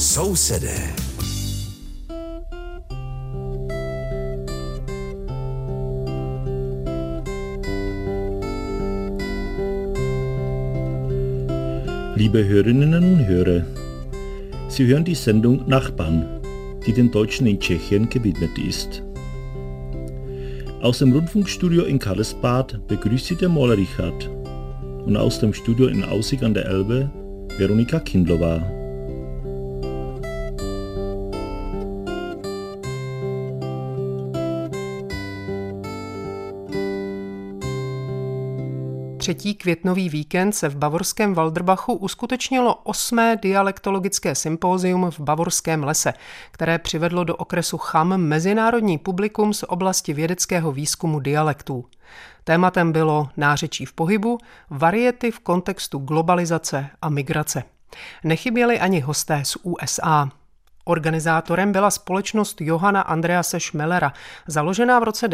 Sousedé. Liebe Hörerinnen und Hörer, Sie hören die Sendung Nachbarn, die den Deutschen in Tschechien gewidmet ist. Aus dem Rundfunkstudio in Karlsbad begrüßt Sie der Maler Richard und aus dem Studio in Aussig an der Elbe Veronika Kindlova. Třetí květnový víkend se v bavorském Walderbachu uskutečnilo 8. dialektologické sympózium v Bavorském lese, které přivedlo do okresu Cham mezinárodní publikum z oblasti vědeckého výzkumu dialektů. Tématem bylo nářečí v pohybu, variety v kontextu globalizace a migrace. Nechyběli ani hosté z USA. Organizátorem byla společnost Johanna Andrease Schmellera, založená v roce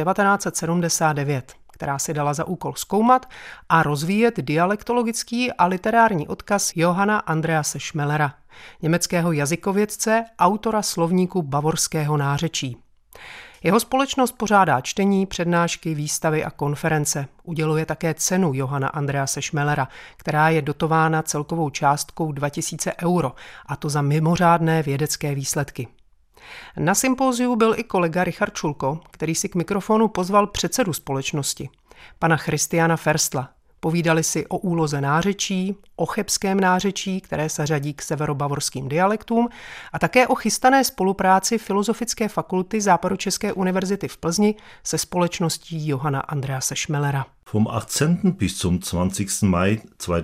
1979. Která si dala za úkol zkoumat a rozvíjet dialektologický a literární odkaz Johanna Andrease Schmellera, německého jazykovědce, autora slovníku bavorského nářečí. Jeho společnost pořádá čtení, přednášky, výstavy a konference. Uděluje také cenu Johanna Andrease Schmellera, která je dotována celkovou částkou 2000 euro, a to za mimořádné vědecké výsledky. Na sympóziu byl i kolega Richard Schulko, který si k mikrofonu pozval předsedu společnosti, pana Christiana Ferstla. Povídali si o úloze nářečí, o chebském nářečí, které se řadí k severobavorským dialektům, a také o chystané spolupráci Filozofické fakulty Západočeské univerzity v Plzni se společností Johanna Andrease Schmellera. Vom 18. bis zum 20. Mai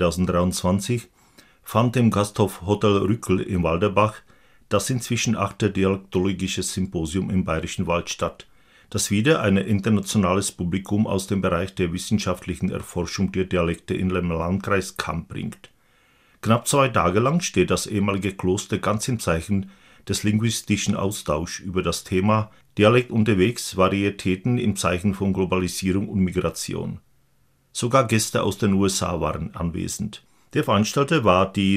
2023 fand im Gasthof Hotel Rückl in Walderbach das inzwischen 8. dialektologische Symposium im Bayerischen Wald statt, das wieder ein internationales Publikum aus dem Bereich der wissenschaftlichen Erforschung der Dialekte in den Landkreis Cham bringt. Knapp 2 Tage lang steht das ehemalige Kloster ganz im Zeichen des linguistischen Austauschs über das Thema Dialekt unterwegs, Varietäten im Zeichen von Globalisierung und Migration. Sogar Gäste aus den USA waren anwesend. Der Veranstalter war die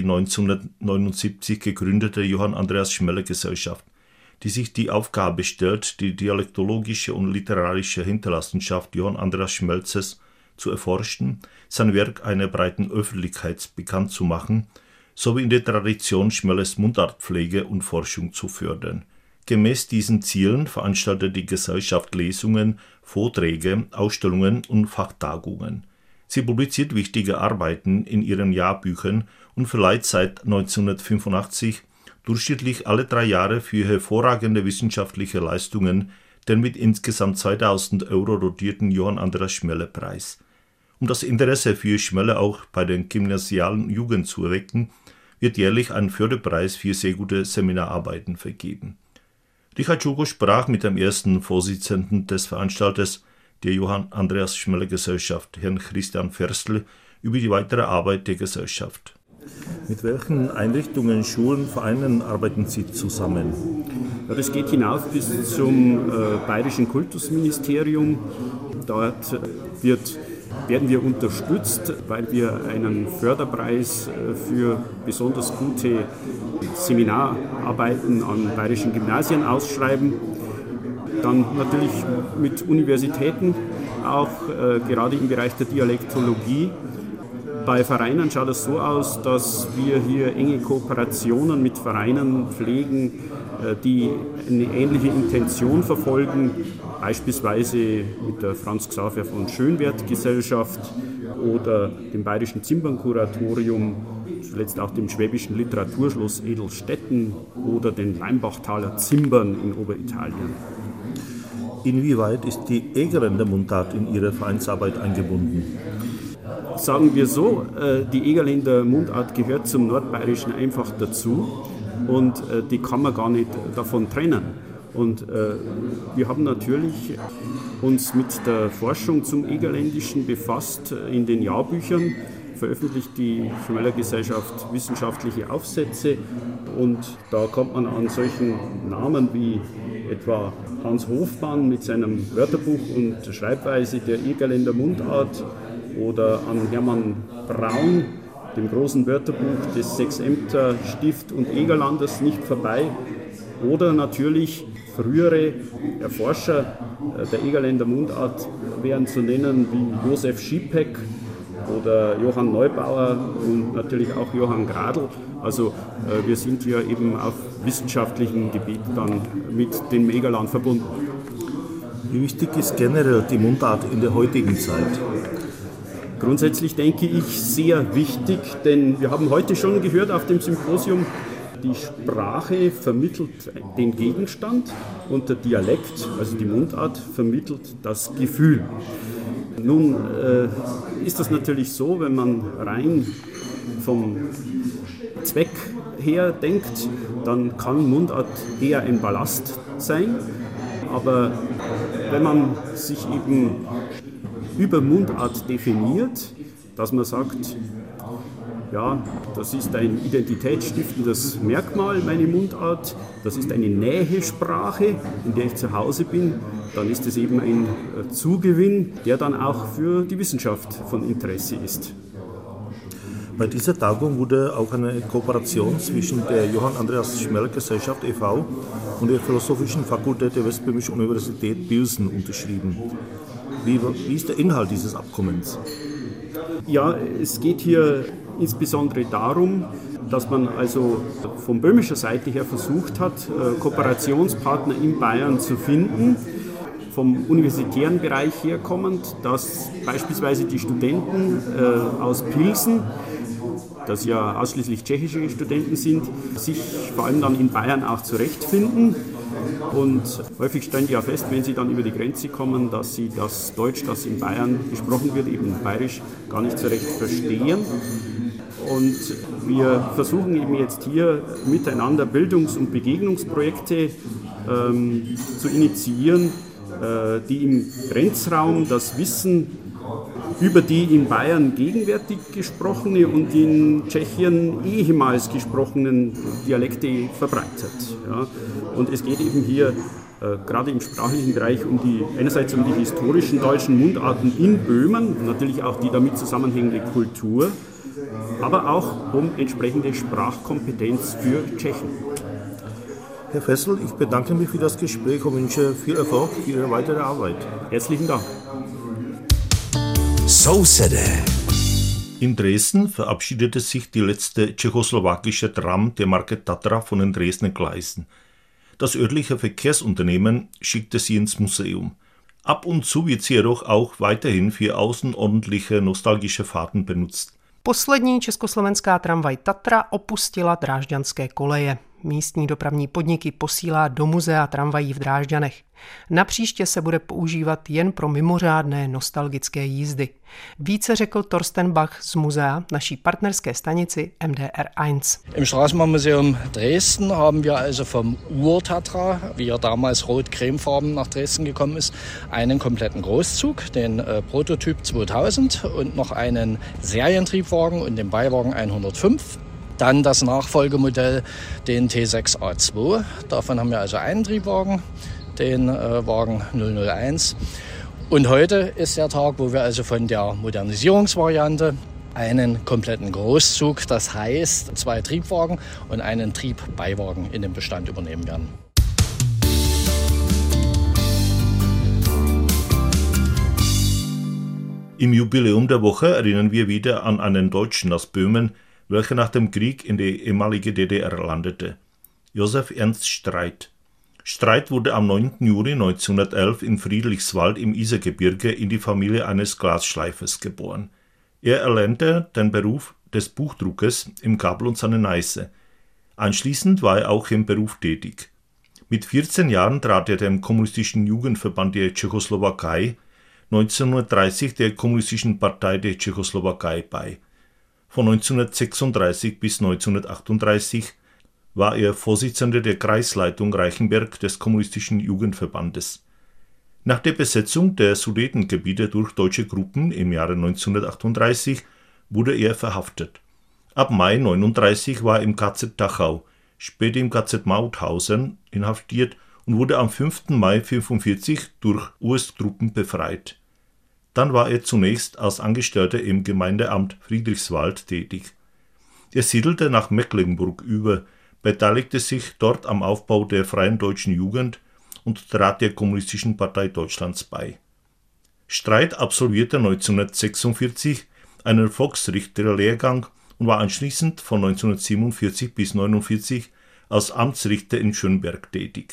1979 gegründete Johann Andreas Schmeller Gesellschaft, die sich die Aufgabe stellt, die dialektologische und literarische Hinterlassenschaft Johann Andreas Schmelzes zu erforschen, sein Werk einer breiten Öffentlichkeit bekannt zu machen, sowie in der Tradition Schmellers Mundartpflege und Forschung zu fördern. Gemäß diesen Zielen veranstaltet die Gesellschaft Lesungen, Vorträge, Ausstellungen und Fachtagungen. Sie publiziert wichtige Arbeiten in ihren Jahrbüchern und verleiht seit 1985 durchschnittlich alle 3 Jahre für hervorragende wissenschaftliche Leistungen den mit insgesamt 2000 Euro dotierten Johann Andreas Schmeller Preis. Um das Interesse für Schmeller auch bei der gymnasialen Jugend zu erwecken, wird jährlich ein Förderpreis für sehr gute Seminararbeiten vergeben. Richard Schulko sprach mit dem ersten Vorsitzenden des Veranstalters der Johann Andreas Schmeller Gesellschaft, Herrn Christian Ferstl, über die weitere Arbeit der Gesellschaft. Mit welchen Einrichtungen, Schulen, Vereinen arbeiten Sie zusammen? Ja, das geht hinauf bis zum Bayerischen Kultusministerium. Dort werden wir unterstützt, weil wir einen Förderpreis für besonders gute Seminararbeiten an bayerischen Gymnasien ausschreiben. Dann natürlich mit Universitäten, auch gerade im Bereich der Dialektologie. Bei Vereinen schaut es so aus, dass wir hier enge Kooperationen mit Vereinen pflegen, die eine ähnliche Intention verfolgen, beispielsweise mit der Franz Xaver von Schönwerth Gesellschaft oder dem Bayerischen Zimmernkuratorium, zuletzt auch dem Schwäbischen Literaturschloss Edelstetten oder den Leimbachtaler Zimbern in Oberitalien. Inwieweit ist die Egerländer Mundart in Ihre Vereinsarbeit eingebunden? Sagen wir so, die Egerländer Mundart gehört zum Nordbayerischen einfach dazu und die kann man gar nicht davon trennen. Und wir haben natürlich uns mit der Forschung zum Egerländischen befasst in den Jahrbüchern, veröffentlicht die Schmeller Gesellschaft wissenschaftliche Aufsätze und da kommt man an solchen Namen wie etwa Hans Hofmann mit seinem Wörterbuch und Schreibweise der Egerländer Mundart oder an Hermann Braun dem großen Wörterbuch des Sechsämter Stift und Egerlanders nicht vorbei. Oder natürlich frühere Erforscher der Egerländer Mundart wären zu nennen wie Josef Schipek oder Johann Neubauer und natürlich auch Johann Gradl. Also wir sind hier eben auf wissenschaftlichem Gebiet dann mit dem Egerland verbunden. Wie wichtig ist generell die Mundart in der heutigen Zeit? Grundsätzlich denke ich sehr wichtig, denn wir haben heute schon gehört auf dem Symposium, die Sprache vermittelt den Gegenstand und der Dialekt, also die Mundart, vermittelt das Gefühl. Nun ist das natürlich so, wenn man rein vom Zweck her denkt, dann kann Mundart eher ein Ballast sein. Aber wenn man sich eben über Mundart definiert, dass man sagt, ja, das ist ein identitätsstiftendes Merkmal, meine Mundart, das ist eine Nähesprache, in der ich zu Hause bin, dann ist es eben ein Zugewinn, der dann auch für die Wissenschaft von Interesse ist. Bei dieser Tagung wurde auch eine Kooperation zwischen der Johann Andreas Schmel Gesellschaft e.V. und der Philosophischen Fakultät der Westböhmischen Universität Pilsen unterschrieben. Wie ist der Inhalt dieses Abkommens? Ja, es geht hier insbesondere darum, dass man also von böhmischer Seite her versucht hat, Kooperationspartner in Bayern zu finden, vom universitären Bereich herkommend, dass beispielsweise die Studenten aus Pilsen, das ja ausschließlich tschechische Studenten sind, sich vor allem dann in Bayern auch zurechtfinden. Und häufig stellen die ja fest, wenn sie dann über die Grenze kommen, dass sie das Deutsch, das in Bayern gesprochen wird, eben bayerisch, gar nicht so recht verstehen. Und wir versuchen eben jetzt hier miteinander Bildungs- und Begegnungsprojekte zu initiieren, die im Grenzraum das Wissen über die in Bayern gegenwärtig gesprochene und in Tschechien ehemals gesprochenen Dialekte verbreitet. Ja. Und es geht eben hier gerade im sprachlichen Bereich einerseits um die historischen deutschen Mundarten in Böhmen, natürlich auch die damit zusammenhängende Kultur, aber auch um entsprechende Sprachkompetenz für Tschechen. Herr Fessel, ich bedanke mich für das Gespräch und wünsche viel Erfolg für Ihre weitere Arbeit. Herzlichen Dank. In Dresden verabschiedete sich die letzte tschechoslowakische Tram der Marke Tatra von den Dresdner Gleisen. Das örtliche Verkehrsunternehmen schickte sie ins Museum. Ab und zu wird sie jedoch auch weiterhin für außerordentliche nostalgische Fahrten benutzt. Poslední československá tramvaj Tatra opustila drážďanské koleje. Místní dopravní podniky posílá do muzea tramvají v Drážďanech. Napříště se bude používat jen pro mimořádné nostalgické jízdy. Více řekl Thorsten Bach z muzea naší partnerské stanici MDR1. Im Straßenbahnmuseum Dresden haben wir also vom Ur-Tatra, wie er damals rot-cremefarben nach Dresden gekommen ist, einen kompletten Großzug, den Prototyp 2000 und noch einen Serientriebwagen und den Beiwagen 105. Dann das Nachfolgemodell, den T6A2. Davon haben wir also einen Triebwagen, den Wagen 001. Und heute ist der Tag, wo wir also von der Modernisierungsvariante einen kompletten Großzug, das heißt 2 Triebwagen und einen Triebbeiwagen in den Bestand übernehmen werden. Im Jubiläum der Woche erinnern wir wieder an einen Deutschen aus Böhmen, welcher nach dem Krieg in die ehemalige DDR landete. Josef Ernst Streit. Streit wurde am 9. Juli 1911 in Friedrichswald im Isergebirge in die Familie eines Glasschleifers geboren. Er erlernte den Beruf des Buchdruckers im Kabel und seine Neiße. Anschließend war er auch im Beruf tätig. Mit 14 Jahren trat er dem Kommunistischen Jugendverband der Tschechoslowakei, 1930 der Kommunistischen Partei der Tschechoslowakei bei. Von 1936 bis 1938 war er Vorsitzender der Kreisleitung Reichenberg des Kommunistischen Jugendverbandes. Nach der Besetzung der Sudetengebiete durch deutsche Gruppen im Jahre 1938 wurde er verhaftet. Ab Mai 1939 war er im KZ Dachau, später im KZ Mauthausen inhaftiert und wurde am 5. Mai 1945 durch US-Truppen befreit. Dann war er zunächst als Angestellter im Gemeindeamt Friedrichswald tätig. Er siedelte nach Mecklenburg über, beteiligte sich dort am Aufbau der Freien Deutschen Jugend und trat der Kommunistischen Partei Deutschlands bei. Streit absolvierte 1946 einen Volksrichterlehrgang und war anschließend von 1947 bis 1949 als Amtsrichter in Schönberg tätig.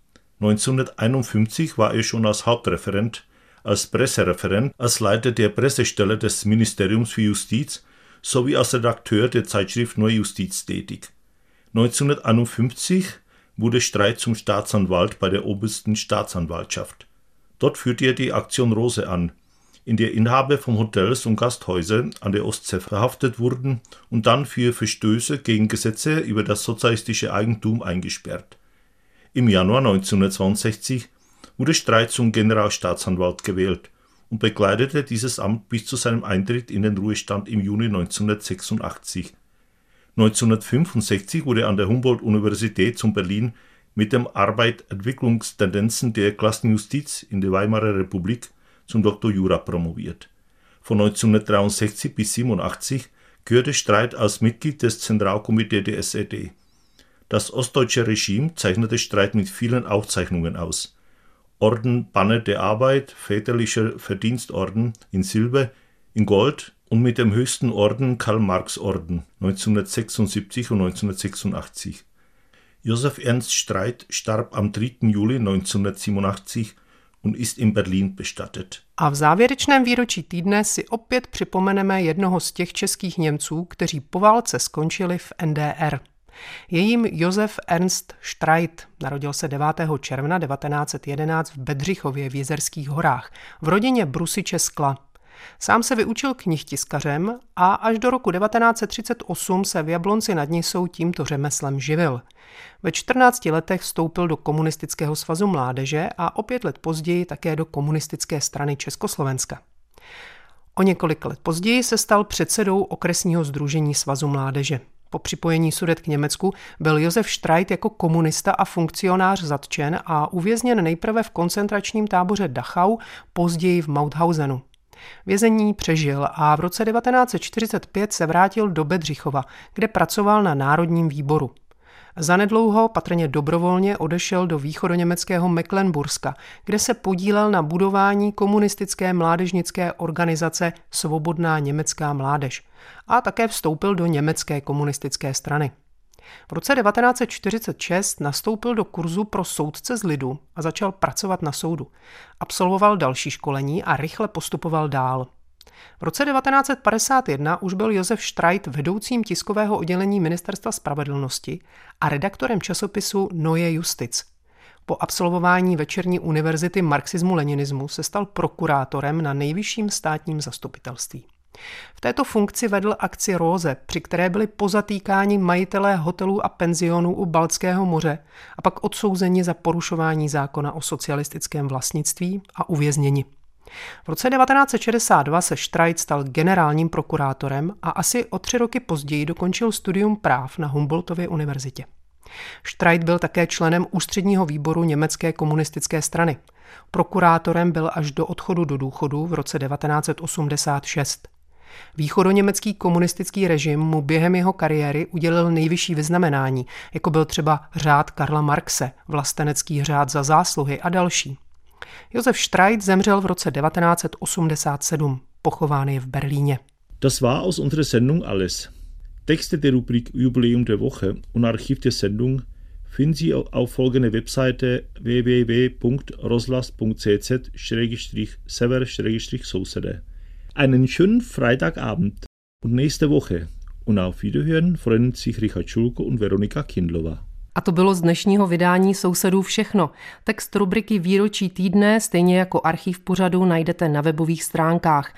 1951 war er schon als Hauptreferent, als Pressereferent, als Leiter der Pressestelle des Ministeriums für Justiz sowie als Redakteur der Zeitschrift Neue Justiz tätig. 1951 wurde Streit zum Staatsanwalt bei der Obersten Staatsanwaltschaft. Dort führte er die Aktion Rose an, in der Inhaber von Hotels und Gasthäusern an der Ostsee verhaftet wurden und dann für Verstöße gegen Gesetze über das sozialistische Eigentum eingesperrt. Im Januar 1962 wurde Streit zum Generalstaatsanwalt gewählt und bekleidete dieses Amt bis zu seinem Eintritt in den Ruhestand im Juni 1986. 1965 wurde er an der Humboldt-Universität zu Berlin mit dem Arbeit Entwicklungstendenzen der Klassenjustiz in der Weimarer Republik zum Dr. Jura promoviert. Von 1963 bis 1987 gehörte Streit als Mitglied des Zentralkomitees der SED. Das ostdeutsche Regime zeichnete Streit mit vielen Auszeichnungen aus. Orden Banner der Arbeit, Väterlicher Verdienstorden in Silber, in Gold und mit dem höchsten Orden Karl-Marx-Orden 1976 und 1986. Josef Ernst Streit starb am 3. Juli 1987 und ist in Berlin bestattet. A v závěrečném výročí týdne si opět připomeneme jednoho z těch českých Němců, kteří po válce skončili v NDR. Je jím Josef Ernst Streit. Narodil se 9. června 1911 v Bedřichově v Jizerských horách v rodině brusiče skla. Sám se vyučil knihtiskařem a až do roku 1938 se v Jablonci nad Nisou tímto řemeslem živil. Ve 14 letech vstoupil do Komunistického svazu mládeže a o 5 let později také do Komunistické strany Československa. O několik let později se stal předsedou okresního sdružení svazu mládeže. Po připojení Sudet k Německu byl Josef Streit jako komunista a funkcionář zatčen a uvězněn nejprve v koncentračním táboře Dachau, později v Mauthausenu. Vězení přežil a v roce 1945 se vrátil do Bedřichova, kde pracoval na Národním výboru. Zanedlouho, patrně dobrovolně, odešel do východoněmeckého Mecklenburska, kde se podílel na budování komunistické mládežnické organizace Svobodná německá mládež a také vstoupil do německé komunistické strany. V roce 1946 nastoupil do kurzu pro soudce z lidu a začal pracovat na soudu. Absolvoval další školení a rychle postupoval dál. V roce 1951 už byl Josef Streit vedoucím tiskového oddělení Ministerstva spravedlnosti a redaktorem časopisu Neue Justiz. Po absolvování večerní univerzity marxismu-leninismu se stal prokurátorem na nejvyšším státním zastupitelství. V této funkci vedl akci Rose, při které byli pozatýkáni majitelé hotelů a penzionů u Baltského moře a pak odsouzeni za porušování zákona o socialistickém vlastnictví a uvězněni. V roce 1962 se Streit stal generálním prokurátorem a asi o 3 roky později dokončil studium práv na Humboldtově univerzitě. Streit byl také členem ústředního výboru Německé komunistické strany. Prokurátorem byl až do odchodu do důchodu v roce 1986. Východoněmecký komunistický režim mu během jeho kariéry udělil nejvyšší vyznamenání, jako byl třeba řád Karla Marxe, vlastenecký řád za zásluhy a další. Josef Streit zemřel v roce 1987. Pochován je v Berlíně. Das war aus unserer Sendung alles. Texte der Rubrik Jubiläum der Woche und Archiv der Sendung finden Sie auf folgender Webseite www.roslas.cz/sever/Sousede. Einen schönen Freitagabend und nächste Woche. Und auf Wiederhören freuen sich Richard Schulko und Veronika Kindlová. A to bylo z dnešního vydání Sousedů všechno. Text rubriky Výročí týdne, stejně jako archiv pořadu, najdete na webových stránkách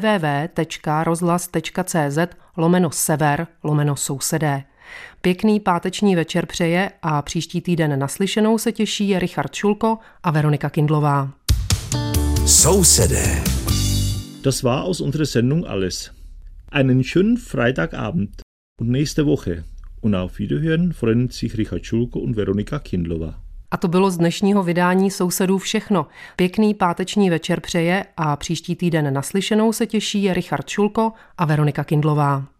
www.rozhlas.cz/sever/sousedé. Pěkný páteční večer přeje a příští týden naslyšenou se těší Richard Schulko a Veronika Kindlová. Sousedé. Das war aus unserer Sendung alles. Einen schönen Freitagabend und nächste Woche. Und auf Wiederhören freuen sich Richard Schulko und Veronika Kindlová. A to bylo z dnešního vydání Sousedů všechno. Pěkný páteční večer přeje a příští týden naslyšenou se těší Richard Schulko a Veronika Kindlová.